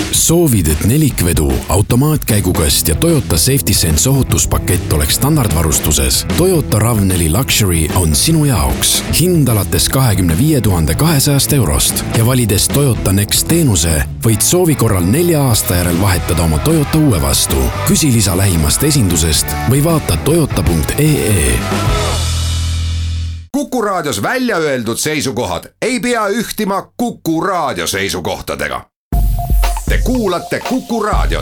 Soovid, et nelikvedu, automaatkäigukast ja Toyota Safety Sense ohutuspakett oleks standardvarustuses? Toyota RAV4 Luxury on sinu jaoks. Hind alates 25 200 eurost ja valides Toyota Next teenuse võid soovi korral 4 aasta järel vahetada oma Toyota uue vastu. Küsi lisa lähimast esindusest või vaata toyota.ee. Kuku Raadios välja öeldud seisukohad ei pea ühtima Kuku Raadio seisukohtadega. Te kuulate Kuku Raadiot.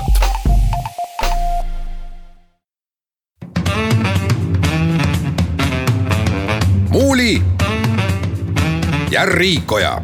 Muuli ja Riikoja.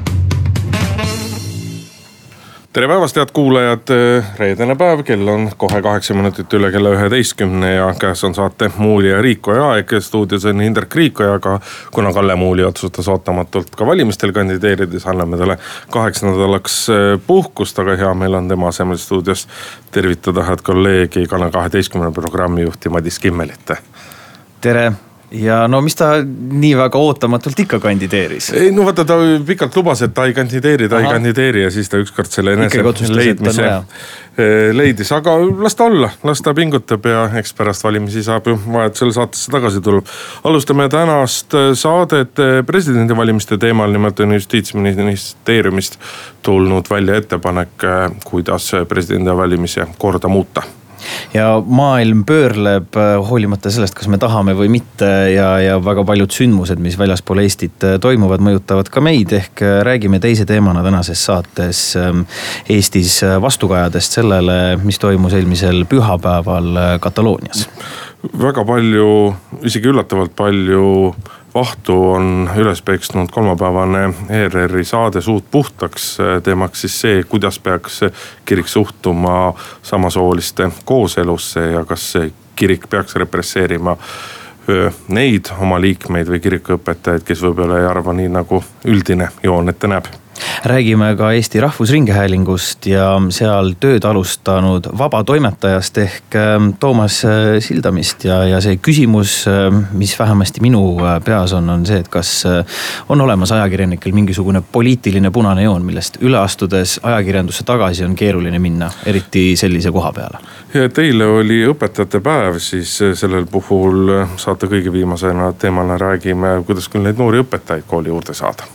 Tere päevast, head kuulajad, reedene päev, kell on kohe 8 minutit üle kella 11 ja käes on saate Muuli ja Riikoja aeg. Stuudios on Indrek Riikoja, aga kuna Kalle Muuli otsustas ootamatult ka valimistel kandideerides, anname talle 8 nädalaks puhkust, aga hea meil on tema asemel stuudios tervitada head kolleegi Kanal 12 programmijuhti Madis Kimmelit. Tere! Ja no mis ta nii väga ootamatult ikka kandideeris? Ei, no vaata, ta pikalt lubas, et ta ei kandideeri ja siis ta ükskord selle enese leidmise leidis. Aga las ta olla, las ta pingutab ja eks pärast valimisi saab ju vajadusel saatesse tagasi tuleb. Alustame tänast saadet presidendivalimiste teemal, nimelt on Justiitsministeeriumist tulnud välja ettepanek, kuidas presidendivalimise korda muuta. Ja maailm pöörleb hoolimata sellest, kas me tahame või mitte ja väga paljud sündmused, mis väljaspool Eestit toimuvad, mõjutavad ka meid. Ehk räägime teise teemana tänases saates Eestis vastukajadest sellele, mis toimus eelmisel pühapäeval Kataloonias. Väga palju, isegi üllatavalt palju vahtu on üles peksnud kolmapäevane ERR-i saade Suud puhtaks, teemaks siis see, kuidas peaks kirik suhtuma samasooliste kooselusse ja kas kirik peaks represseerima neid oma liikmeid või kirikuõpetajaid, kes võib-olla ei arva nii, nagu üldine joon ette näeb. Räägime ka Eesti Rahvusringhäälingust ja seal tööd alustanud vabatoimetajast ehk Toomas Sildamist ja see küsimus, mis vähemasti minu peas on see, et kas on olemas ajakirjanikel mingisugune poliitiline punane joon, millest üle astudes ajakirjandusse tagasi on keeruline minna, eriti sellise koha peale. Ja teile oli õpetajate päev, siis sellel puhul saate kõige viimasena teemana räägime, kuidas küll neid noori õpetajaid kooli juurde saada.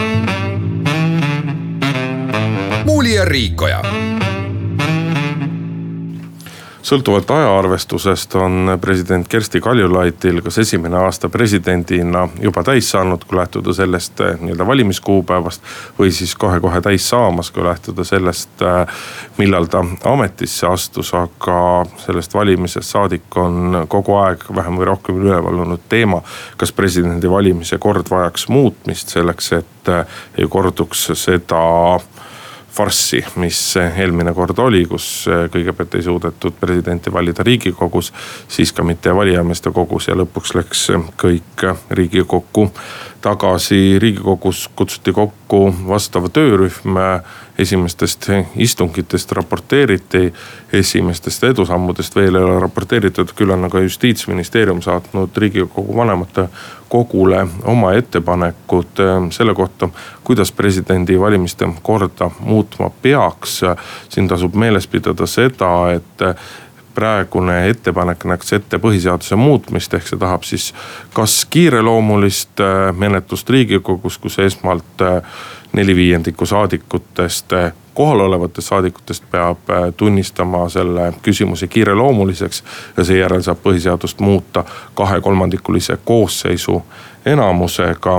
Muuli ja Riikoja. Sõltuvalt ajaarvestusest on president Kersti Kaljulaitil kas esimene aasta presidendina juba täis saanud, kui lähtuda sellest nii-öelda valimiskuupäevast või siis kohe täis saamas, kui lähtuda sellest, millal ta ametisse astus, aga sellest valimisest saadik on kogu aeg vähem või rohkem üleval olnud teema, kas presidendi valimise kord vajaks muutmist selleks, et ei korduks seda farssi, mis eelmine kord oli, kus kõigepealt ei suudetud presidenti valida Riigikogus, siis ka mitte valijameeste kogus ja lõpuks läks kõik Riigikokku tagasi. Riigikogus kutsuti kokku vastava töörühm, esimestest istungitest raporteeriti, esimestest edusammudest veel ei ole raporteeritud, küll on aga Justiitsministeerium saatnud Riigikogu vanemate kogule oma ettepanekud selle kohta, kuidas presidendi valimiste korda muutma peaks. Siin tasub meeles pidada seda, et praegune ettepanek näeks ette põhiseaduse muutmist, ehk see tahab siis kas kiireloomulist menetlust Riigikogus, kus esmalt 4/5 saadikutest, kohalolevatest saadikutest peab tunnistama selle küsimuse kiireloomuliseks ja seejärel saab põhiseadust muuta 2/3 koosseisu enamusega.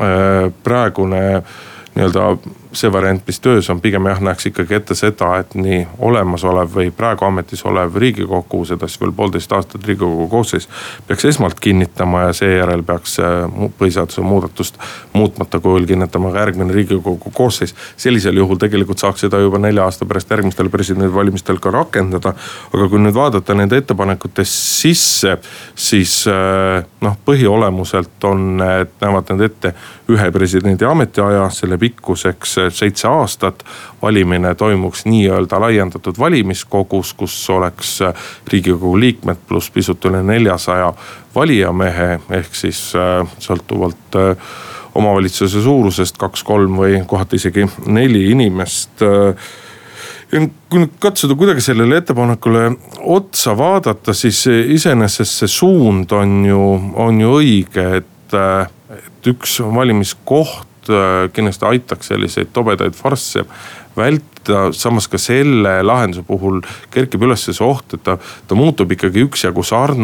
Praegune nii-öelda see variant, mis töös on, pigem näeks ikkagi ette seda, et nii olemasolev või praegu ametis olev Riigikogu, seda siis veel 1,5 aastat Riigikogu koosseis, peaks esmalt kinnitama ja seejärel peaks põhiseaduse muudatust muutmata kujul kinnitama ka järgmine Riigikogu koosseis. Sellisel juhul tegelikult saaks seda juba 4 aasta pärast järgmistel presidendivalimistel ka rakendada. Aga kui nüüd vaadata nende ettepanekute sisse, siis põhiolemuselt näevad need ette ühe presidendi ametiaja, selle pikkuseks 7 aastat. Valimine toimuks nii-öelda laiendatud valimiskogus, kus oleks Riigikogu liikmed pluss pisut üle 400 valijamehe, ehk siis sõltuvalt omavalitsuse suurusest 2, 3 või kohati isegi 4 inimest. kui nüüd katsuda kuidagi sellele ettepanekule otsa vaadata, siis iseenesest see suund on ju õige, et üks valimiskoht kindlasti aitaks selliseid tobedaid farsse vältida, samas ka selle lahenduse puhul kerkib üles see oht, et ta muutub ikkagi üksjagu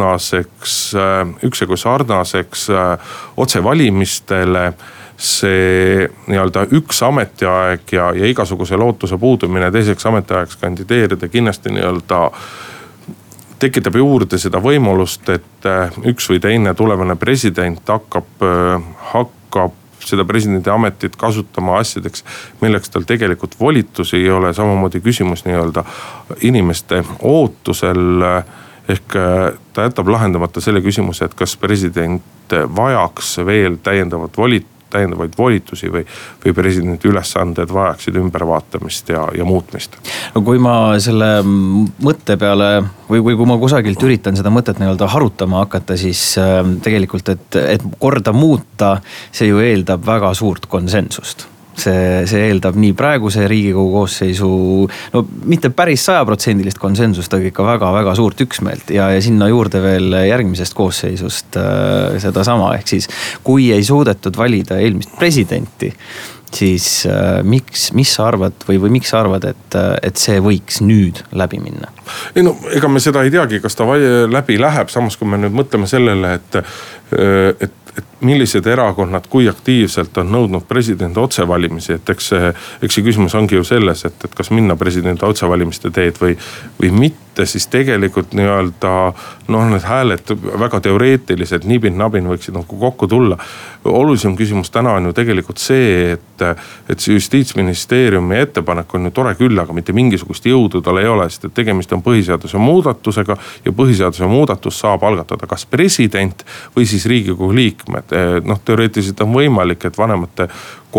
sarnaseks otsevalimistele. See nii-öelda üks ametiaeg ja igasuguse lootuse puudumine teiseks ametiajaks kandideerida kindlasti nii-öelda tekitab juurde seda võimalust, et üks või teine tulevane president hakkab seda presidendi ametit kasutama asjadeks, milleks tal tegelikult volitusi ei ole. Samamoodi küsimus nii-öelda inimeste ootusel, ehk ta jätab lahendamata selle küsimuse, et kas president vajaks veel täiendavaid volitusi või presidendi ülesanded vajaksid ümbervaatamist ja muutmist. No kui ma selle mõtte peale või kui ma kusagilt üritan seda mõtet nii-öelda harutama hakata, siis tegelikult, et korda muuta, see ju eeldab väga suurt konsensust. See eeldab nii praeguse Riigikogu koosseisu, no mitte päris 100% konsensust, aga ikka väga-väga suurt üksmeelt ja sinna juurde veel järgmisest koosseisust seda sama. Ehk siis, kui ei suudetud valida eelmist presidenti, siis mis sa arvad või miks sa arvad, et see võiks nüüd läbi minna? Ei no, ega me seda ei teagi, kas ta läbi läheb, samas kui me nüüd mõtleme sellele, et millised erakonnad kui aktiivselt on nõudnud presidendi otsevalimisi, et eks see küsimus ongi ju selles, et kas minna presidendi otsevalimiste teed või mitte, siis tegelikult nii-öelda need hääled väga teoreetilised nibin-nabin võiksid kokku tulla. Olulisem küsimus täna on ju tegelikult see, et see Justiitsministeeriumi ettepanek on ju tore küll, aga mitte mingisugust jõudu tal ei ole, sest et tegemist on põhiseaduse muudatusega ja põhiseaduse muudatus saab algatada kas president või siis Riigikogu liikmed. Teoreetiliselt on võimalik, et vanemate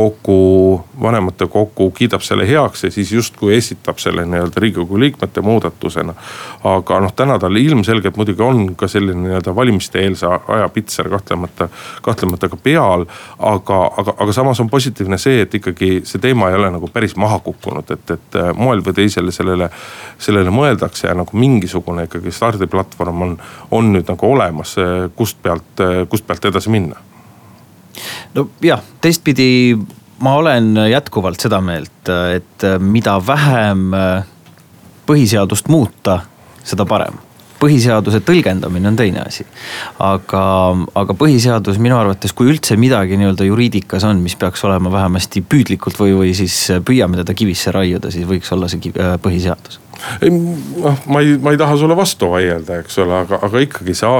kokku kiidab selle heaks ja siis justkui esitab selle nii-öelda Riigikogu liikmete muudatusena. Aga täna tal ilmselgelt muidugi on ka selline nii-öelda valimiste eelse aja pitser kahtlemata ka peal, aga samas on positiivne see, et ikkagi see teema ei ole nagu päris maha kukkunud, et moel või teisele sellele mõeldakse ja nagu mingisugune ikkagi stardiplatvorm on nüüd nagu olemas, kust pealt edasi minna. No jah, teistpidi ma olen jätkuvalt seda meelt, et mida vähem põhiseadust muuta, seda parem. Põhiseaduse tõlgendamine on teine asi. Aga põhiseadus minu arvates, kui üldse midagi nii-öelda juriidikas on, mis peaks olema vähemasti püüdlikult või siis püüame teda kivisse raiuda, siis võiks olla see põhiseadus. Ma ei taha sulle vastu vaielda, eks ole, aga ikkagi see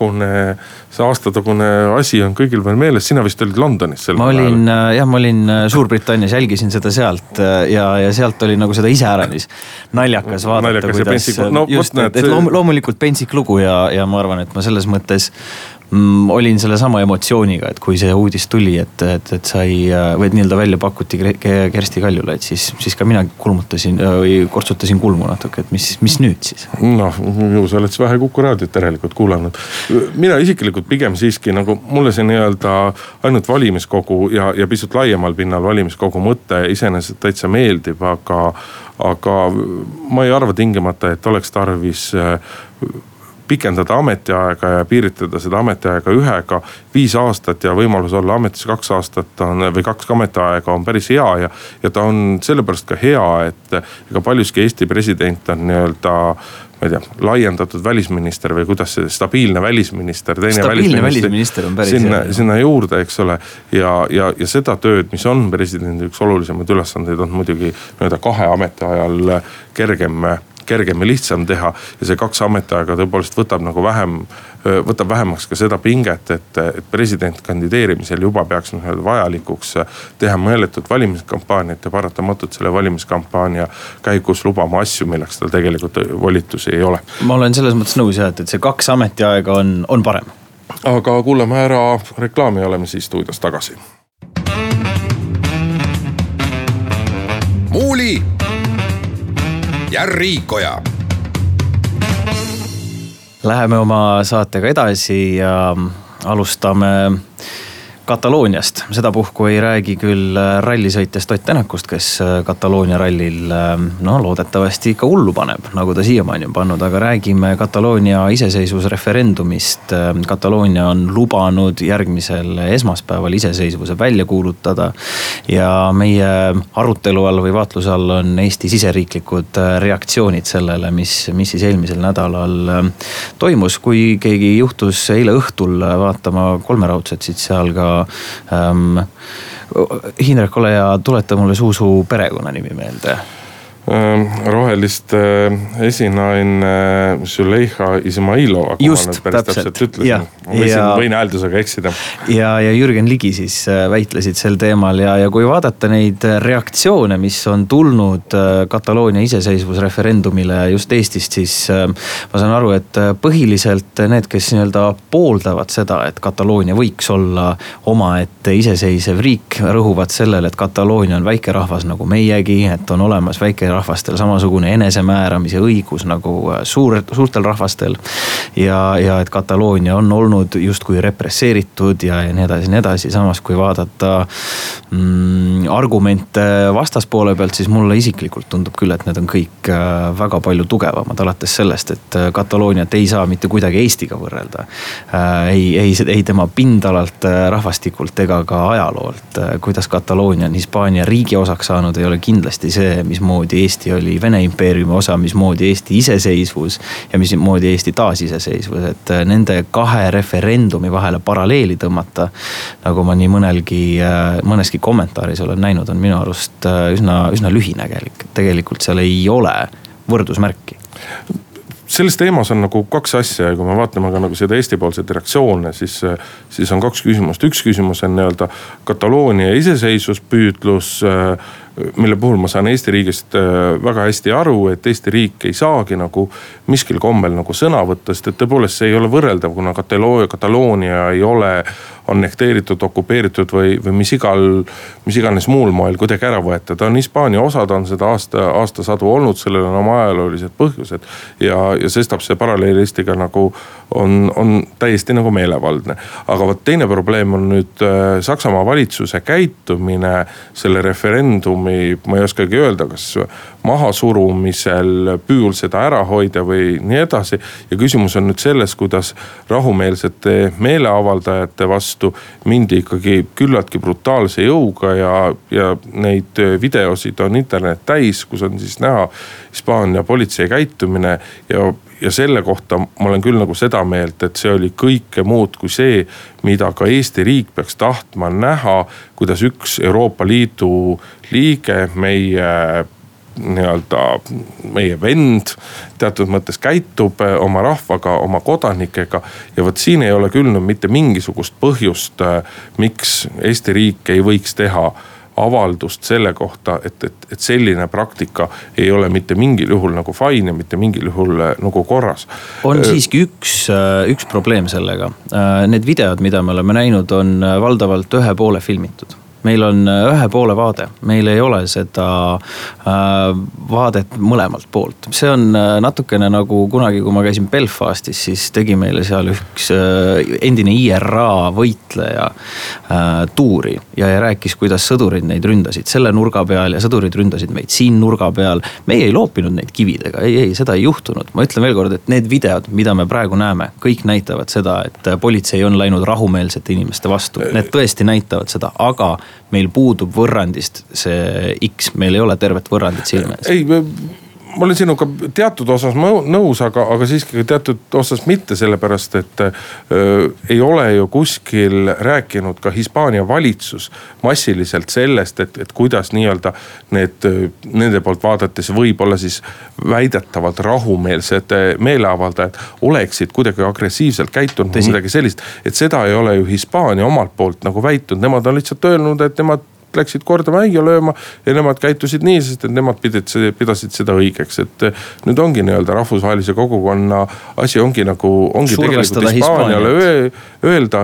aastatagune asi on kõigil veel meeles. Sina vist olid Londonis. Ma olin Suurbritannias, jälgisin seda sealt ja sealt oli nagu seda iseäranis naljakas vaadata, kuidas loomulikult pentsik lugu ja ma arvan, et ma selles mõttes olin selle sama emotsiooniga, et kui see uudis tuli, et sai või nii-öelda välja pakuti Kersti Kaljulaid, siis ka mina kulmutasin või kortsutasin kulmu natuke, et mis nüüd siis? Ju sa oled vähe Kuku raadiot järelikult kuulanud. Mina isiklikult pigem siiski nagu mulle see nii-öelda ainult valimiskogu ja pisut laiemal pinnal valimiskogu mõte iseenesest täitsa meeldib, aga ma ei arva tingimata, et oleks tarvis pikendada ametiaega ja piiritleda seda ametiaega 5 aastat ja võimalus olla ametis 2 aastat või 2 ametiaega on päris hea ja ta on sellepärast ka hea, et ega paljuski Eesti president on nii-öelda, ma ei tea, laiendatud välisminister või kuidas see stabiilne välisminister, stabiilne välisminister on päris sinna juurde, eks ole. Ja seda tööd, mis on presidendi üks olulisemaid ülesandeid, on muidugi nii-öelda 2 ametiajal kergem ja lihtsam teha ja see 2 ametiaega tõepoolest võtab vähemaks ka seda pinget, et president kandideerimisel juba peaks vajalikuks teha mõeletut valimiskampaaniat ja paratamatult selle valimiskampaania käigus lubama asju, milleks tal tegelikult volitusi ei ole. Ma olen selles mõttes nõus, et see 2 ametiaega on parem. Aga kuulame ära reklaami ja oleme siis stuudios tagasi. Muuli ja Riikoja. Läheme oma saatega edasi ja alustame Katalooniast, sedapuhku ei räägi küll rallisõitjast Ott Tänakust, kes Kataloonia rallil loodetavasti ikka hullu paneb, nagu ta siiamaani on pannud, aga räägime Kataloonia iseseisvusreferendumist. Kataloonia on lubanud järgmisel esmaspäeval iseseisvuse välja kuulutada ja meie arutelu all või vaatluse all on Eesti siseriiklikud reaktsioonid sellele, mis siis eelmisel nädalal toimus. Kui keegi juhtus eile õhtul vaatama Kolmeraudset, siis seal ka Hindrek, ole ja tuleta mulle Suusu perekonnanimi meelde. Rohelist esinaine Züleyxa Izmailova, kui ma nüüd päris täpselt ütlesin. Võin hääldusega eksida. Ja Jürgen Ligi siis väitlesid sel teemal ja kui vaadata neid reaktsioone, mis on tulnud Kataloonia iseseisvusreferendumile just Eestist, siis ma saan aru, et põhiliselt need, kes nii-öelda pooldavad seda, et Kataloonia võiks olla omaette iseseisev riik, rõhuvad sellele, et Kataloonia on väike rahvas nagu meiegi, et on olemas väike rahvastel samasugune enesemääramise õigus nagu suurtel rahvastel ja et Kataloonia on olnud justkui represseeritud ja nii edasi. Samas kui vaadata argumente vastaspoole pealt, siis mulle isiklikult tundub küll, et need on kõik väga palju tugevamad, alates sellest, et Katalooniat ei saa mitte kuidagi Eestiga võrrelda. Ei tema pindalalt, rahvastikult ega ka ajaloolt. Kuidas Kataloonia on Hispaania riigi osaks saanud, ei ole kindlasti see, mismoodi Eesti oli Vene impeeriumi osa, mismoodi Eesti iseseisvus ja mismoodi Eesti taasiseseisvus, et nende kahe referendumi vahele paralleeli tõmmata, nagu ma nii mõneski kommentaaris olen näinud, on minu arust üsna lühinägelik. Tegelikult seal ei ole võrdusmärki. Selles teemas on nagu kaks asja ja kui me vaatame ka nagu seda Eesti-poolseid reaktsioone, siis on kaks küsimust. Üks küsimus on nii-öelda Kataloonia iseseisvuspüüdlus, mille puhul ma saan Eesti riigist väga hästi aru, et Eesti riik ei saagi nagu miskil kombel nagu sõna võtta, sest et tõepoolest see ei ole võrreldav, kuna Kataloonia ei ole annekteeritud, okupeeritud või mis iganes muul moel kuidagi ära võeta. Ta on Hispaania osa, ta on seda aastasadu olnud, sellel on oma ajaloolised põhjused ja sestap see paralleel Eestiga nagu on täiesti nagu meelevaldne. Aga teine probleem on nüüd Saksamaa valitsuse käitumine selle referendumi, ma ei oskagi öelda, kas mahasurumisel püüul seda ära hoida või nii edasi. Ja küsimus on nüüd selles, kuidas rahumeelsete meeleavaldajate vastu mindi ikkagi küllaltki brutaalse jõuga ja neid videosid on internet täis, kus on siis näha Hispaania politsei käitumine ja selle kohta ma olen küll nagu seda meelt, et see oli kõike muud kui see, mida ka Eesti riik peaks tahtma näha, kuidas üks Euroopa Liidu liige, meie vend teatud mõttes käitub oma rahvaga, oma kodanikega ja vot siin ei ole küll mitte mingisugust põhjust, miks Eesti riik ei võiks teha avaldust selle kohta, et selline praktika ei ole mitte mingil juhul nagu fine ja mitte mingil juhul nagu korras. On siiski üks probleem sellega. Need videod, mida me oleme näinud, on valdavalt ühe poole filmitud. Meil on ühe poole vaade, meil ei ole seda vaadet mõlemalt poolt. See on natukene nagu kunagi, kui ma käisin Belfastis, siis tegi meile seal üks endine IRA võitleja tuuri ja rääkis, kuidas sõdurid neid ründasid selle nurga peal ja sõdurid ründasid meid siin nurga peal. Meie ei loopinud neid kividega, ei, seda ei juhtunud. Ma ütlen veel kord, et need videod, mida me praegu näeme, kõik näitavad seda, et politsei on läinud rahumeelsete inimeste vastu. Need tõesti näitavad seda, aga meil puudub võrrandist see X, meil ei ole tervet võrrandit silme ees. Ei, ma olen sinuga teatud osas nõus, aga siiski teatud osas mitte, sellepärast, et ei ole ju kuskil rääkinud ka Hispaania valitsus massiliselt sellest, et kuidas nii-öelda nende poolt vaadates võib-olla siis väidetavalt rahumeelsed meeleavaldajad oleksid kuidagi agressiivselt käitunud või midagi sellist, et seda ei ole ju Hispaania omalt poolt nagu väitnud, nemad on lihtsalt öelnud, et nemad läksid korda mäia lööma ja nemad käitusid nii, sest et nemad pidasid seda õigeks. Et nüüd ongi nii-öelda rahvusvahelise kogukonna asi ongi tegelikult Hispaaniale öelda,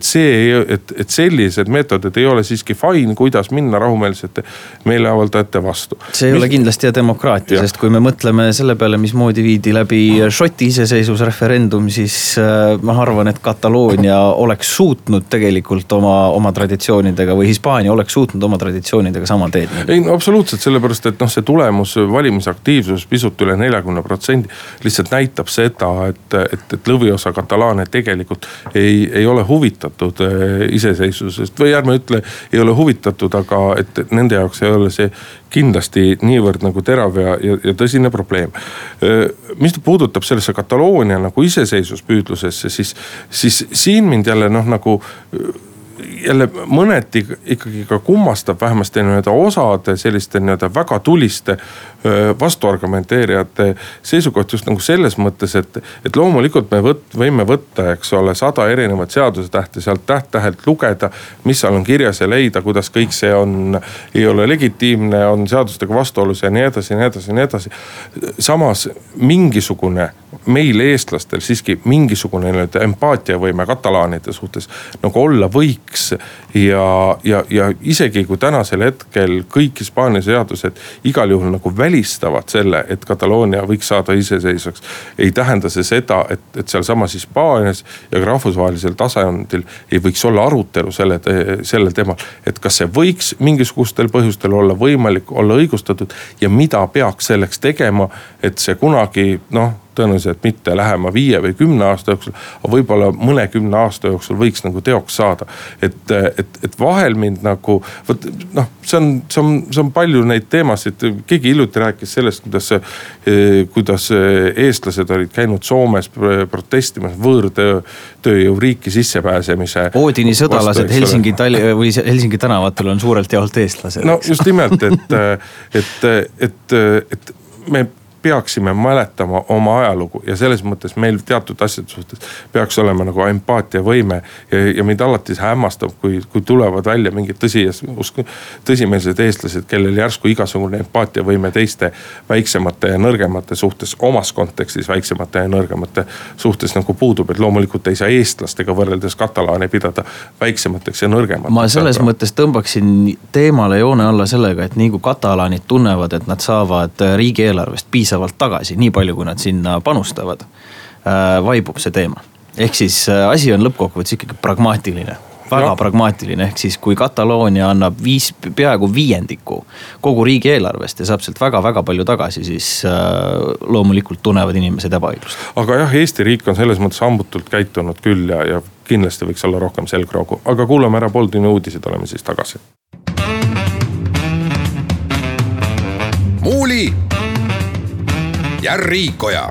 et sellised meetodid ei ole siiski fine, kuidas minna rahumeelsete meeleavaldajate vastu. See ei ole kindlasti demokraatia, sest kui me mõtleme selle peale, mismoodi viidi läbi Šoti iseseisvusreferendum, siis ma arvan, et Kataloonia oleks suutnud tegelikult oma traditsioonidega või Hispaania oleks suutnud oma traditsioonidega sama teed. Ei, no absoluutselt, sellepärast, et see tulemus, valimisaktiivsus pisut üle 40% lihtsalt näitab seda, et lõviosa katalaane tegelikult ei ole huvitatud iseseisvusest või ärme ütle, ei ole huvitatud, aga et nende jaoks ei ole see kindlasti niivõrd nagu terav ja tõsine probleem. Mis puudutab sellesse Kataloonia nagu iseseisvuspüüdlusesse, siis siin mind jälle jälle mõneti ikkagi ka kummastab vähemasti osade selliste väga tuliste vastuargumenteerijate seisukoht just nagu selles mõttes, et loomulikult me võime võtta, eks ole, 100 erinevat seadusetähte sealt täht-tähelt lugeda, mis seal on kirjas ja leida, kuidas kõik see ei ole legitiimne, on seadustega vastuolus ja nii edasi, nii edasi, nii edasi. Samas mingisugune meil eestlastel siiski mingisugune empaatiavõime katalaanide suhtes nagu olla võiks ja isegi kui tänasel hetkel kõik Hispaania seadused igal juhul nagu välistavad selle, et Kataloonia võiks saada iseseisvaks, ei tähenda see seda, et seal samas Hispaanias ja ka rahvusvahelisel tasandil ei võiks olla arutelu sellel teemal, et kas see võiks mingisugustel põhjustel olla võimalik, olla õigustatud ja mida peaks selleks tegema, et see kunagi tõenäoliselt mitte lähema 5 või 10 aasta jooksul, aga võib-olla mõne 10 aasta jooksul võiks nagu teoks saada. Et vahel mind nagu, see on palju neid teemasid, keegi hiljuti rääkis sellest, kuidas eestlased olid käinud Soomes protestimas võõrtööjõu riiki sissepääsemise. Oodini sõdalased Helsingi tänavatel on suurelt jaolt eestlased. No just nimelt, et me peaksime mäletama oma ajalugu ja selles mõttes meil teatud asjade suhtes peaks olema nagu empaatiavõime ja mind alati hämmastab, kui tulevad välja mingid tõsimeelsed eestlased, kellel järsku igasugune empaatiavõime teiste väiksemate ja nõrgemate suhtes, omas kontekstis väiksemate ja nõrgemate suhtes nagu puudub, et loomulikult ei saa eestlastega võrreldes katalaane pidada väiksemateks ja nõrgemateks. Ma selles mõttes tõmbaksin teemale joone alla sellega, et nii kui katalaanid tunnevad, et nad saavad riigieelarvest piisavalt tagasi, nii palju kui nad sinna panustavad, vaibub see teema. Ehk siis asi on lõppkokkuvõttes ikkagi pragmaatiline, väga pragmaatiline. Ehk siis kui Kataloonia annab peaaegu 5% kogu riigieelarvest ja saab sealt väga-väga palju tagasi, siis loomulikult tunnevad inimesed ebaõiglust. Aga jah, Eesti riik on selles mõttes hambutult käitunud küll ja kindlasti võiks olla rohkem selgroogu. Aga kuulame ära Pooltunni uudised, oleme siis tagasi. Muuli ja Riikoja.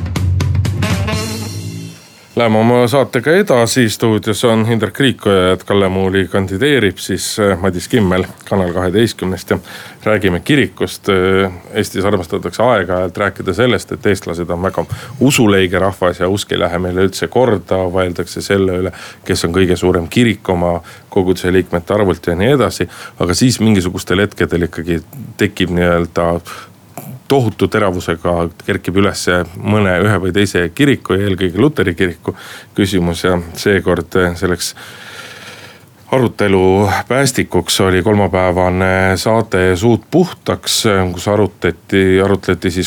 Läheme oma saatega edasi, stuudios on Hindrek Riikoja, et Kalle Muuli kandideerib siis Madis Kimmel Kanal 12 ja räägime kirikust. Eestis armastatakse aeg-ajalt rääkida sellest, et eestlased on väga usuleige rahvas ja usk ei lähe meile üldse korda, vaieldakse selle üle, kes on kõige suurem kirik oma koguduse liikmete arvult ja nii edasi. Aga siis mingisugustel hetkedel ikkagi tekib nii-öelda tohutu teravusega kerkib üles ühe või teise kiriku ja eelkõige Luteri kiriku küsimus ja seekord selleks arutelu päästikuks oli kolmapäevane saade Suud puhtaks, kus arutleti siis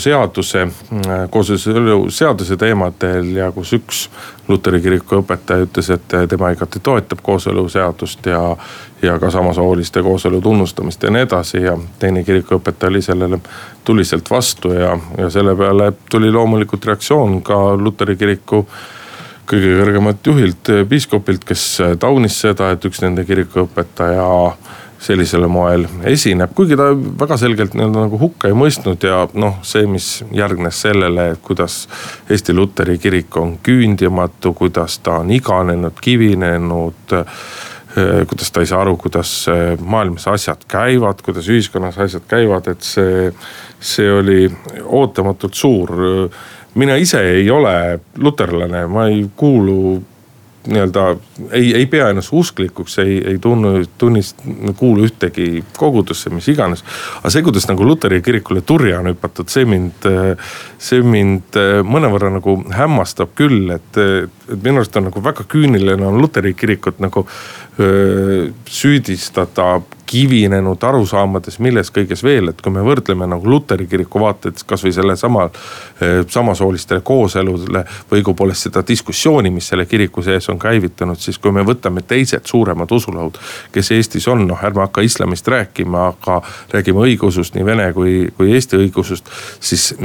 kooseluseaduse teemadel ja kus üks Luteri kiriku õpetaja ütles, et tema igati toetab kooseluseadust ja ka samasooliste kooselu tunnustamist ja nii edasi ja teine kirikuõpetaja oli sellele tuliselt vastu ja selle peale tuli loomulikult reaktsioon ka Luteri kiriku kõige kõrgemat juhilt, piiskopilt, kes taunis seda, et üks nende kirikuõpetaja sellisele moel esineb, kuigi ta väga selgelt nagu hukka ei mõistnud ja see, mis järgnes sellele, et kuidas Eesti Luteri kirik on küündimatu, kuidas ta on iganenud, kivinenud, kuidas ta ei saa aru, kuidas maailmas asjad käivad, kuidas ühiskonnas asjad käivad, et see oli ootamatult suur. Mina ise ei ole luterlane, ma ei kuulu nii-öelda ei pea ennast usklikuks, ei kuulu ühtegi kogudusse, mis iganes. Aga see, kuidas nagu Luteri kirikule turja on hüpatud, see mind mõnevõrra nagu hämmastab küll, et minu arust on nagu väga küüniline on Luteri kirikut nagu süüdistada kivinenud arusaamades, milles kõiges veel, et kui me võrdleme nagu Luteri kiriku vaated kas või selle samasoolistele kooseludele või õigupoolest seda diskussiooni, mis selle kiriku sees on käivitanud, siis kui me võtame teised suuremad usulahud, kes Eestis on, ärme hakka islamist rääkima, aga räägime õigeusust, nii vene kui Eesti õigusust, siis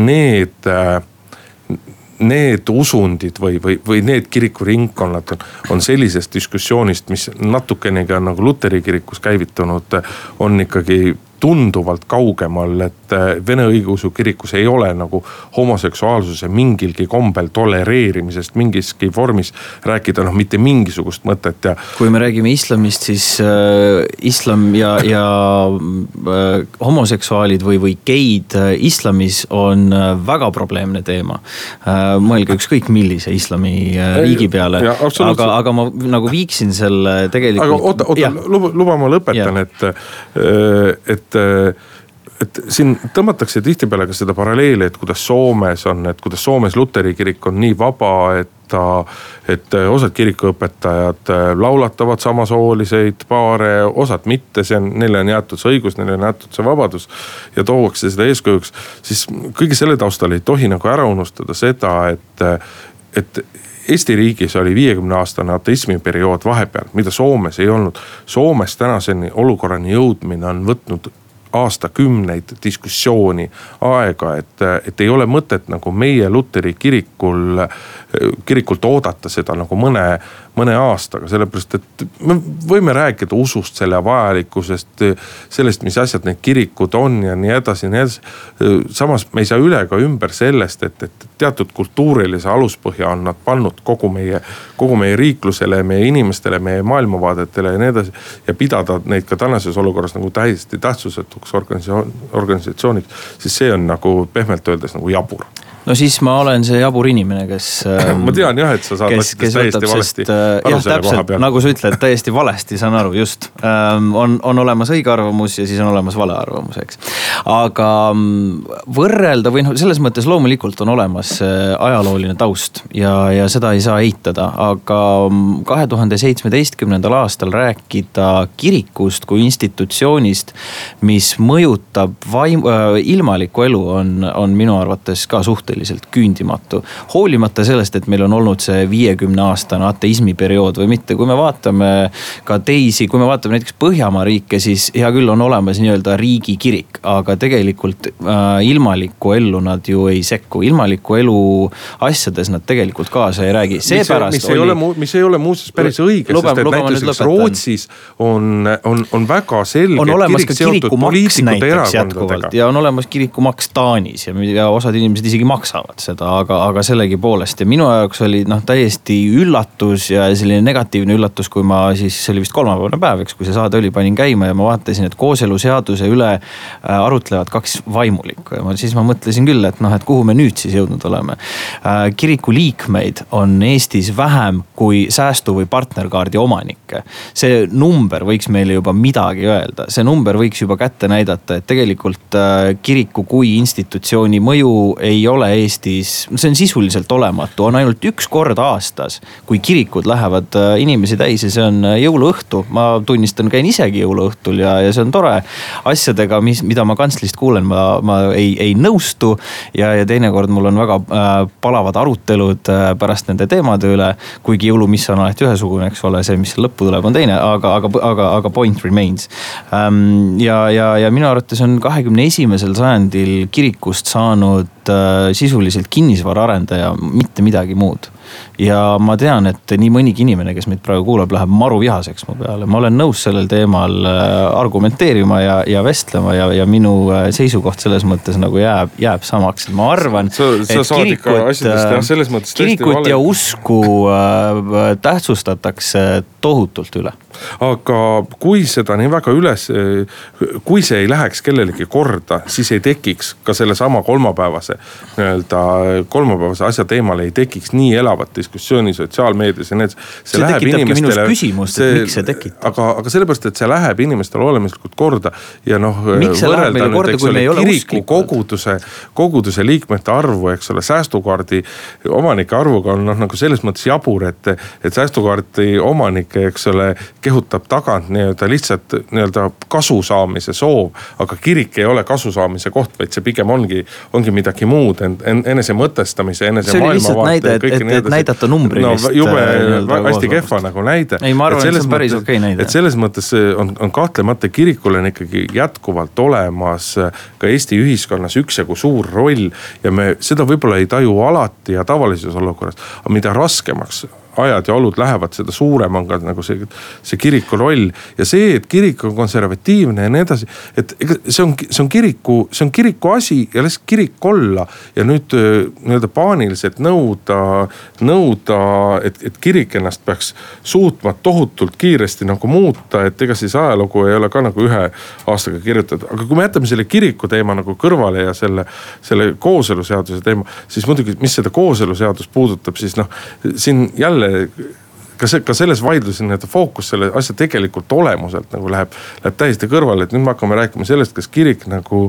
need usundid või need kirikuringkonnad on sellisest diskussioonist, mis natukenegi on nagu Luteri kirikus käivitunud, on ikkagi tunduvalt kaugemal, et Vene õigeusu kirikus ei ole nagu homoseksuaalsuse mingilgi kombel tolereerimisest mingiski vormis rääkida, mitte mingisugust mõtet. Kui me räägime islamist, siis islam ja homoseksuaalid või geid islamis on väga probleemne teema. Mõelge ükskõik millise islami riigi peale. Aga ma nagu viiksin selle tegelikult... Aga luba ma lõpetan, et siin tõmmatakse tihtipeale ka seda paralleeli, et kuidas Soomes on, et kuidas Soomes Luteri kirik on nii vaba, et osad kirikuõpetajad laulatavad samasooliseid paare, osad mitte, neile on jäetud see õigus, neile on jäetud see vabadus ja toovakse seda eeskujuks, siis kõige selle taustal ei tohi nagu ära unustada seda, et Eesti riigis oli 50-aastane ateismiperiood vahepeal, mida Soomes ei olnud. Soomes tänaseni olukorrani jõudmine on võtnud aastakümneid diskussiooni aega, et ei ole mõtet nagu meie Luteri kirikult oodata seda nagu mõne aastaga, sellepärast, et me võime rääkida usust, selle vajalikkusest, sellest, mis asjad need kirikud on ja nii edasi. Samas me ei saa üle ka ümber sellest, et teatud kultuurilise aluspõhja on nad pannud kogu meie riiklusele, meie inimestele, meie maailmavaadetele ja nii edasi ja pidada neid ka tänases olukorras nagu täiesti tähtsusetuks organisatsiooniks, siis see on nagu pehmelt öeldes nagu jabur. No siis ma olen see jabur inimene, kes... Ma tean jah, et sa saad täiesti valesti aru selle koha peal. Nagu sa ütled, täiesti valesti, saan aru, just. On olemas õige arvamus ja siis on olemas vale arvamus, eks. Aga võrrelda või selles mõttes loomulikult on olemas ajalooline taust ja seda ei saa eitada. Aga 2017. aastal rääkida kirikust kui institutsioonist, mis mõjutab ilmalikku elu, on minu arvates ka suhteliselt küündimatu. Hoolimata sellest, et meil on olnud see 50-aastane ateismiperiood või mitte. Kui me vaatame ka teisi, kui me vaatame näiteks Põhjamaa riike, siis hea küll on olemas nii-öelda riigi kirik, aga tegelikult ilmalikku ellu nad ju ei sekku. Ilmalikku elu asjades nad tegelikult kaasa ei räägi. Mis ei ole muuseas päris õige, sest et näiteks Rootsis on väga selge kirik seotud poliitikute erakondadega. Ja on olemas kirikumaks Taanis ja osad inimesed isegi maksavad seda, aga sellegi poolest. Ja minu jaoks oli täiesti üllatus ja selline negatiivne üllatus, kui ma siis, see oli vist kolmapäevane päev, eks, kui see saade oli, panin käima ja ma vaatasin, et kooseluseaduse üle arutlevad kaks vaimulikku. Ja siis ma mõtlesin küll, et kuhu me nüüd siis jõudnud oleme. Kiriku liikmeid on Eestis vähem kui säästu- või partnerkaardi omanikke. See number võiks meile juba midagi öelda. See number võiks juba kätte näidata, et tegelikult kiriku kui institutsiooni mõju ei ole Eestis, see on sisuliselt olematu, on ainult üks kord aastas, kui kirikud lähevad inimesi täis ja see on jõuluõhtu. Ma tunnistan, käin isegi jõuluõhtul ja see on tore asjadega, mida ma kantslist kuulen, ma ei nõustu ja teinekord mul on väga palavad arutelud pärast nende teemade üle, kuigi jõulumiss on alati ühesugune, eks ole, see, mis lõppu tuleb, on teine, aga point remains. Ja minu arvates on 21. sajandil kirikust saanud sisuliselt kinnisvaraarendaja, mitte midagi muud. Ja ma tean, et nii mõnigi inimene, kes meid praegu kuulab, läheb maru vihaseks mu peale. Ma olen nõus sellel teemal argumenteerima ja vestlema ja minu seisukoht selles mõttes nagu jääb samaks. Ma arvan, et kirikut ja usku tähtsustatakse tohutult üle. Aga kui seda nii väga kui see ei läheks kellelegi korda, siis ei tekiks ka selle sama kolmapäevase asja teemal ei tekiks nii elavat elavat diskussiooni sotsiaalmeedias ja need. See tekitabki minus küsimust, et miks see tekitab. Aga sellepärast, et see läheb inimestele olemislikult korda ja miks see läheb meile korda, kui me ei ole koguduse liikmete arvu, eks ole, säästukaardi omanike arvuga on nagu selles mõttes jabur, et säästukaardi omanike, eks ole, kehutab tagant nii-öelda lihtsalt nii-öelda kasu saamise soov, aga kirik ei ole kasu saamise koht, vaid see pigem ongi midagi muud, enese mõtestamise, enese maailmavaate. See oli lihtsalt näide, et näidata numbrilist. No jube hästi kehva nagu näide. Ei, ma arvan, et see on päris okei näide. Et selles mõttes on kahtlemata kirikul on ikkagi jätkuvalt olemas ka Eesti ühiskonnas üksjagu suur roll ja me seda võib-olla ei taju alati ja tavalises olukorras, aga mida raskemaks ajad ja olud lähevad, seda suurem on ka nagu see kiriku roll ja see, et kirik on konservatiivne ja nii edasi, et see on kiriku asi ja lihtsalt kirik olla ja nüüd nii-öelda paaniliselt nõuda, et kirik ennast peaks suutma tohutult kiiresti nagu muuta, et ega siis ajalugu ei ole ka nagu ühe aastaga kirjutatud, aga kui me jätame selle kiriku teema nagu kõrvale ja selle kooseluseaduse teema, siis muidugi, mis seda kooseluseadust puudutab, siis siin jälle ka selles vaidluses nii-öelda fookus selle asja tegelikult olemuselt nagu läheb täiesti kõrvale, et nüüd me hakkame rääkima sellest, kas kirik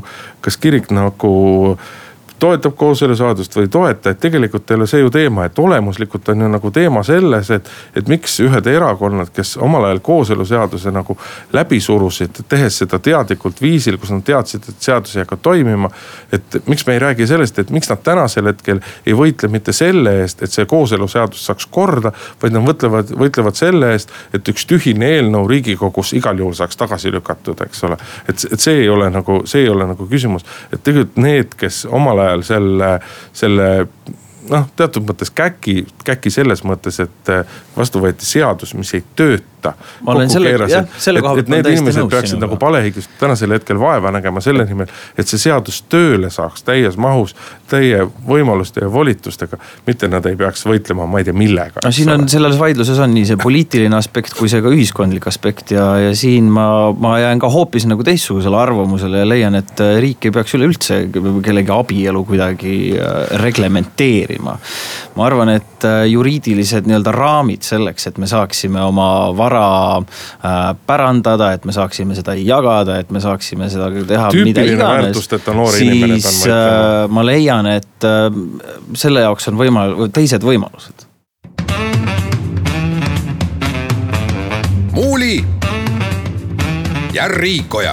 nagu toetab kooseluseadust või toeta, et tegelikult ei ole see ju teema, et olemuslikult on ju nagu teema selles, et miks ühed erakonnad, kes omal ajal kooseluseaduse nagu läbi surusid, tehes seda teadlikult viisil, kus nad teadsid, et seadus ei hakka toimima, et miks me ei räägi sellest, et miks nad tänasel hetkel ei võitle mitte selle eest, et see kooseluseadus saaks korda, vaid nad võitlevad selle eest, et üks tühine eelnõu Riigikogus igal juhul saaks tagasi lükatud, eks ole. Et see ei ole nagu küsimus, et tegelikult need, kes omal ajal selle teatud mõttes käki selles mõttes, et vastu võeti seadus, mis ei tööta. Ma olen selle koha et need inimesed peaksid nagu palehigist tänasel hetkel vaeva nägema selle nimel, et see seadus tööle saaks täies mahus, täie võimaluste ja volitustega, mitte nad ei peaks võitlema, ma ei tea millega. No siin on selles vaidluses on nii see poliitiline aspekt kui see ka ühiskondlik aspekt ja siin ma jään ka hoopis nagu teistsugusele arvamusele ja leian, et riik ei peaks üleüldse kellegi abielu kuidagi reglementeerima. Ma arvan, et juriidilised nii-öelda raamid selleks, et me saaksime oma vara pärandada, et me saaksime seda jagada, et me saaksime seda teha mida iganes, siis ma leian, et selle jaoks on teised võimalused. Muuli ja Riikoja.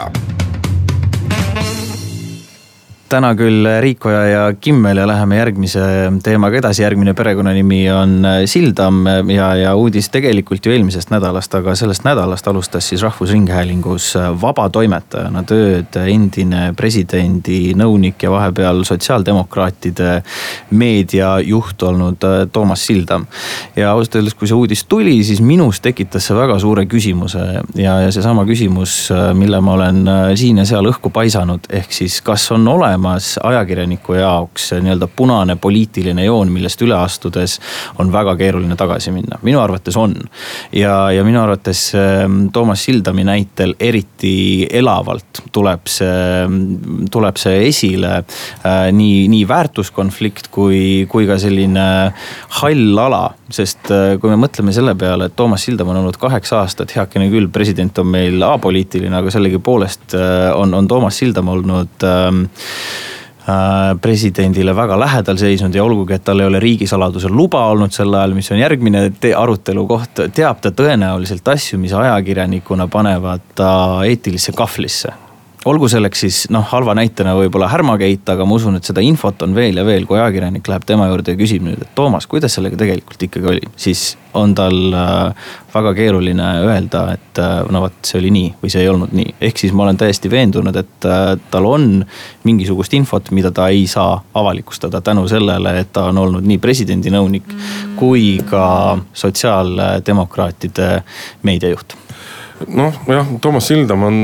Täna küll Riikoja ja Kimmel ja läheme järgmise teemaga edasi. Järgmine perekonnanimi on Sildam ja uudis tegelikult ju eelmisest nädalast, aga sellest nädalast alustas siis Rahvusringhäälingus vabatoimetajana tööd endine presidendi nõunik ja vahepeal sotsiaaldemokraatide meediajuht olnud Toomas Sildam. Ja ausalt öeldes, kui see uudis tuli, siis minus tekitas see väga suure küsimuse ja see sama küsimus, mille ma olen siin ja seal õhku paisanud, ehk siis kas on ajakirjaniku jaoks nii-öelda punane poliitiline joon, millest üle astudes on väga keeruline tagasi minna. Minu arvates on. Ja minu arvates Toomas Sildami näitel eriti elavalt tuleb see esile nii väärtuskonflikt kui ka selline hall ala. Sest kui me mõtleme selle peale, et Toomas Sildam on olnud 8 aastat, heakene küll, president on meil apoliitiline, aga sellegi poolest on Toomas Sildam olnud presidendile väga lähedal seisnud ja olgugi, et tal ei ole riigisaladuse luba olnud sel ajal, mis on järgmine arutelu koht, teab ta tõenäoliselt asju, mis ajakirjanikuna panevad ta eetilisse kahvlisse. Olgu selleks siis halva näitena võib-olla Härmagate, aga ma usun, et seda infot on veel ja veel, kui ajakirjanik läheb tema juurde ja küsib nüüd, et Toomas, kuidas sellega tegelikult ikkagi oli, siis on tal väga keeruline öelda, et see oli nii või see ei olnud nii. Ehk siis ma olen täiesti veendunud, et tal on mingisugust infot, mida ta ei saa avalikustada tänu sellele, et ta on olnud nii presidendi nõunik kui ka sotsiaaldemokraatide meediajuht. Toomas Sildam on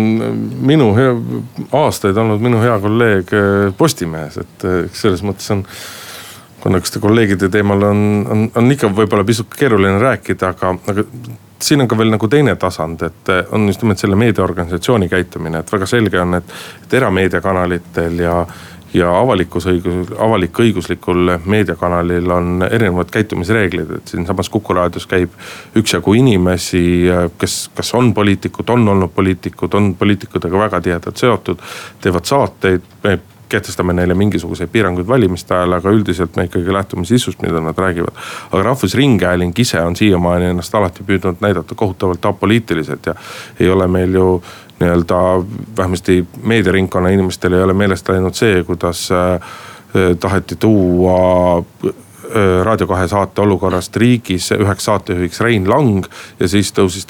aastaid olnud minu hea kolleeg Postimehes, et selles mõttes on, kuna kõste kolleegide teemal on ikka võib-olla pisut keeruline rääkida, aga siin on ka veel nagu teine tasand, et on just nimelt selle meediaorganisatsiooni käitumine, et väga selge on, et erameediakanalitel ja avalik-õiguslikul meediakanalil on erinevad käitumisreeglid, et siin samas Kuku raadios käib üksjagu inimesi, kes on poliitikud, on olnud poliitikud, on poliitikudega väga tihedalt seotud, teevad saateid, me kehtestame neile mingisuguseid piiranguid valimiste ajal, aga üldiselt me ikkagi lähtume sisust, mida nad räägivad. Aga Rahvusringhääling ise on siiamaani ennast alati püüdnud näidata kohutavalt apoliitiliselt ja ei ole meil ju nii-öelda vähemasti meediarinkonna inimestel ei ole meelest läinud see, kuidas taheti tuua Raadio 2 saate olukorrast riigis üheks saatejuhiks Rein Lang ja siis tõusis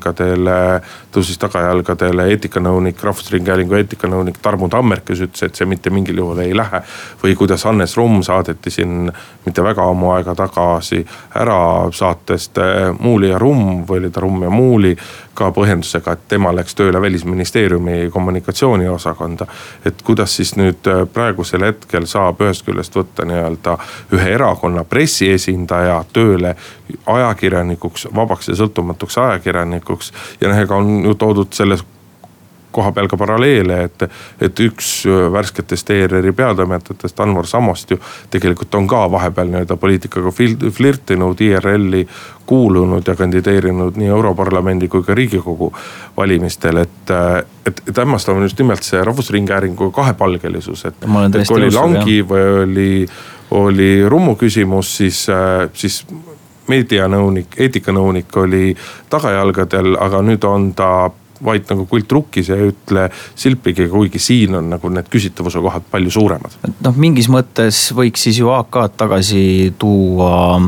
tagajalgadele eetikanõunik, Rahvusringhäälingu eetikanõunik Tarmo Tammer, kes ütles, et see mitte mingil juhul ei lähe. Või kuidas Hannes Rumm saadeti siin mitte väga ammu aega tagasi ära saatest Muuli ja Rumm või oli ta Rumm ja Muuli ka põhjendusega, et tema läks tööle Välisministeeriumi kommunikatsiooniosakonda. Et kuidas siis nüüd praegusel hetkel saab ühest küljest võtta nii-öelda ühe erakonna pressiesindaja tööle ajakirjanikuks, vabaks ja sõltumatuks ajakirjanikuks. Ja ega on ju toodud selles koha peal ka paralleele, et üks värsketest ERR-i peatoimetajatest Anvar Samost ju tegelikult on ka vahepeal nii-öelda poliitikaga flirtinud, IRL-i kuulunud ja kandideerinud nii Europarlamendi kui ka Riigikogu valimistel, et hämmastav on just nimelt see Rahvusringhäälingu kahepalgelisus, et kui oli Langi või oli Rummu küsimus, siis meedianõunik, eetikanõunik oli tagajalgadel, aga nüüd on ta vaid nagu kult rukkis ja ei ütle silpigi, kuigi siin on nagu need küsitavuse kohad palju suuremad. Mingis mõttes võiks siis ju AK-d tagasi tuua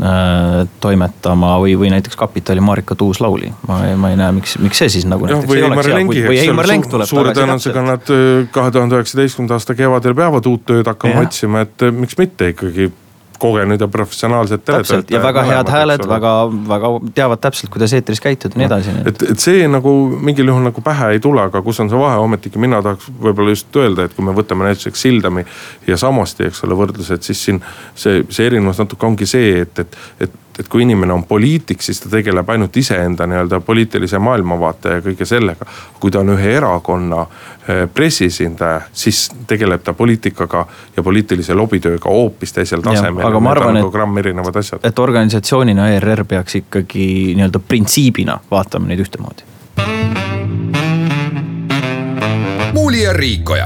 toimetama või näiteks Kapitali Marika Tuus-Lauli. Ma ei näe, miks see siis nagu näiteks ei oleks hea. Või Heimar Lenk tuleb suure tõenäosusega nad 2019. aasta kevadel peavad uut tööd hakkama otsima, et miks mitte ikkagi kogenud ja professionaalsed teletöötajad. Ja väga head hääled, väga teavad täpselt, kuidas eetris käituda nii edasi. Et see nagu mingil juhul nagu pähe ei tule, aga kus on see vahe, ometigi mina tahaks võib-olla just öelda, et kui me võtame näiteks Sildami ja Samosti, eks ole, võrdlused, siis siin see erinevus natuke ongi see, et kui inimene on poliitik, siis ta tegeleb ainult iseenda nii-öelda poliitilise maailmavaate ja kõige sellega. Kui ta on ühe erakonna pressiesindaja, siis tegeleb ta poliitikaga ja poliitilise lobitööga hoopis teisel tasemel. Aga ma arvan, et organisatsioonina ERR peaks ikkagi nii-öelda printsiibina vaatama neid ühtemoodi. Muuli ja Riikoja.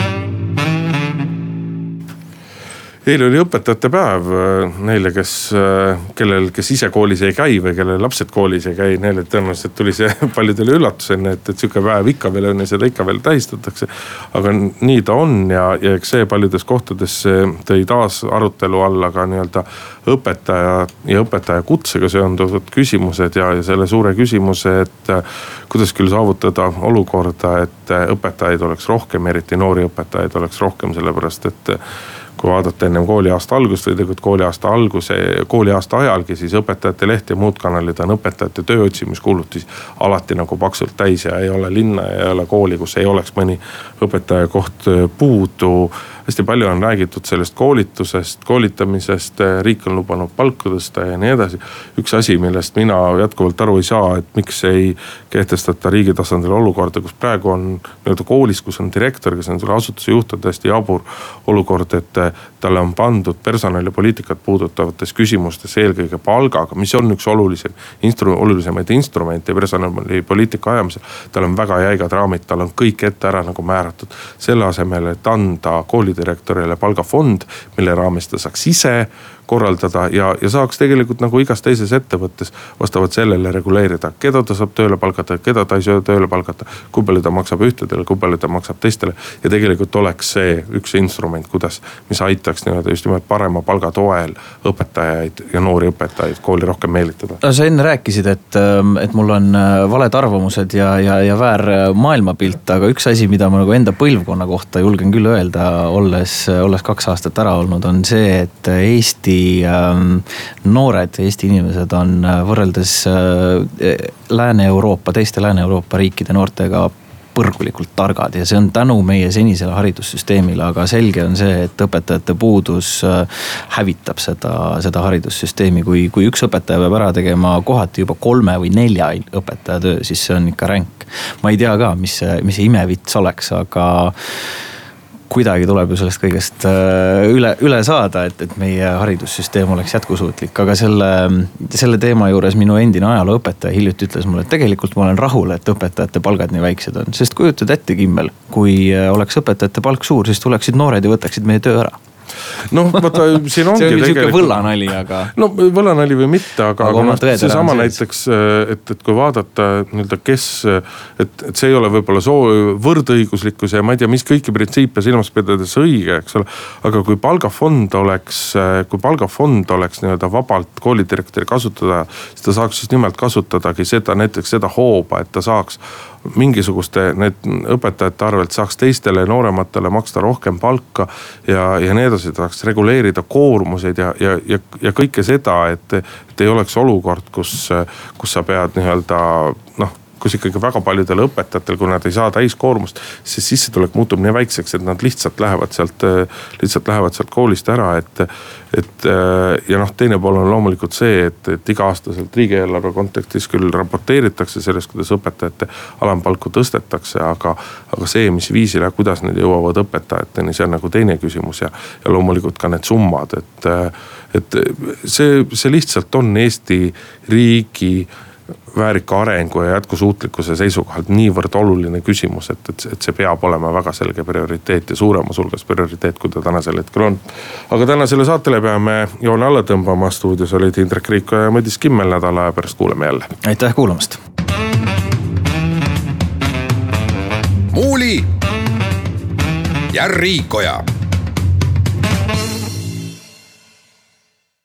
Eile oli õpetajate päev neile, kes ise koolis ei käi või kelle lapsed koolis ei käi. Neile tõenäoliselt tuli see paljudele üllatusena, et siuke päev ikka veel on ja seda ikka veel tähistatakse. Aga nii ta on ja eks see paljudes kohtades tõi taas arutelu alla ka nii-öelda õpetaja ja õpetaja kutsega seonduvad küsimused ja selle suure küsimuse, et kuidas küll saavutada olukorda, et õpetajaid oleks rohkem, eriti noori õpetajaid oleks rohkem, sellepärast et kui vaadata ennem kooliaasta algust või tegelikult kooliaasta ajalgi, siis õpetajate leht ja muud kanalid on õpetajate tööotsimiskuulutusi alati nagu paksult täis ja ei ole linna ja ei ole kooli, kus ei oleks mõni õpetaja koht puudu. Hästi palju on räägitud sellest koolitusest, koolitamisest, riik on lubanud palku tõsta ja nii edasi. Üks asi, millest mina jätkuvalt aru ei saa, et miks ei kehtestata riigi tasandil olukorda, kus praegu on nii-öelda koolis, kus on direktor, kes on selle asutuse juht, on täiesti jabur olukord, et talle on pandud personali poliitikat puudutavates küsimustes eelkõige palgaga, mis on üks olulisemaid instrumente personali poliitika ajamisel. Tal on väga jäigad raamid, tal on kõik ette ära nagu määratud. Selle asemel, et anda koolidirektorile palgafond, mille raames ta saaks ise korraldada ja saaks tegelikult nagu igas teises ettevõttes vastavalt sellele reguleerida, keda ta saab tööle palgata, keda ta ei saa tööle palgata, kui palju ta maksab ühtedele, kui palju ta maksab teistele. Ja tegelikult oleks see üks instrument, mis aitaks just nimelt parema palga toel õpetajaid ja noori õpetajaid kooli rohkem meelitada. Sa enne rääkisid, et mul on valed arvamused ja väär maailmapilt, aga üks asi, mida ma nagu enda põlvkonna kohta julgen küll öelda, olles 2 aastat ära olnud, on see, et Eesti noored, Eesti inimesed on võrreldes teiste Lääne-Euroopa riikide noortega põrgulikult targad ja see on tänu meie senisele haridussüsteemile, aga selge on see, et õpetajate puudus hävitab seda haridussüsteemi. Kui üks õpetaja peab ära tegema kohati juba 3 või 4 õpetaja töö, siis see on ikka ränk. Ma ei tea ka, mis see imevits oleks, aga kuidagi tuleb ju sellest kõigest üle saada, et meie haridussüsteem oleks jätkusuutlik. Aga selle teema juures minu endine ajalooõpetaja hiljuti ütles mulle, et tegelikult ma olen rahul, et õpetajate palgad nii väiksed on. Sest kujutad ette, Kimmel, kui oleks õpetajate palk suur, siis tuleksid noored ja võtaksid meie töö ära. No vaata, siin ongi see on niisugune võllanali, aga... No võllanali või mitte, aga see sama näiteks, et kui vaadata nii-öelda kes, et see ei ole võib-olla võrdõiguslikkus ja ma ei tea, mis kõiki printsiipe silmas pidades õige, eks ole. Aga kui palgafond oleks nii-öelda vabalt koolidirektori kasutada, siis ta saaks siis nimelt kasutadagi näiteks seda hooba, et ta saaks mingisuguste need õpetajate arvelt saaks teistele noorematele maksta rohkem palka ja nii edasi, saaks reguleerida koormuseid ja kõike seda, et ei oleks olukord, kus sa pead nii-öelda kus ikkagi väga paljudel õpetajatel, kui nad ei saa täiskoormust, siis sissetulek muutub nii väikseks, et nad lihtsalt lähevad sealt koolist ära, ja teine pool on loomulikult see, et iga-aastaselt riigieelarve kontekstis küll raporteeritakse sellest, kuidas õpetajate alampalku tõstetakse, aga see, mis viisil ja kuidas need jõuavad õpetajateni, see on nagu teine küsimus ja loomulikult ka need summad, et see lihtsalt on Eesti riigi väärika arengu ja jätkusuutlikkuse seisukohalt niivõrd oluline küsimus, et see peab olema väga selge prioriteet ja suuremas hulgas prioriteet, kui ta tänasel hetkel on. Aga tänasele saatele peame joone alla tõmbama. Stuudios olid Indrek Riiko ja Madis Kimmel. Nädala aja pärast kuuleme jälle. Aitäh kuulamast. Muuli ja Riikoja.